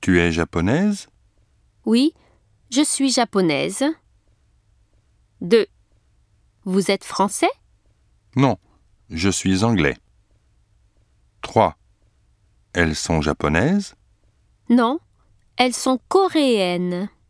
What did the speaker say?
Tu es japonaise? Oui, je suis japonaise. 2. Vous êtes français? Non, je suis anglais. 3. Elles sont japonaises? Non, elles sont coréennes.